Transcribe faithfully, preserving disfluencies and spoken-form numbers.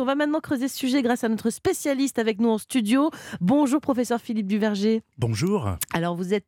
va maintenant creuser ce sujet grâce à notre spécialiste avec nous en studio. Bonjour professeur Philippe Duverger. Bonjour. Alors vous êtes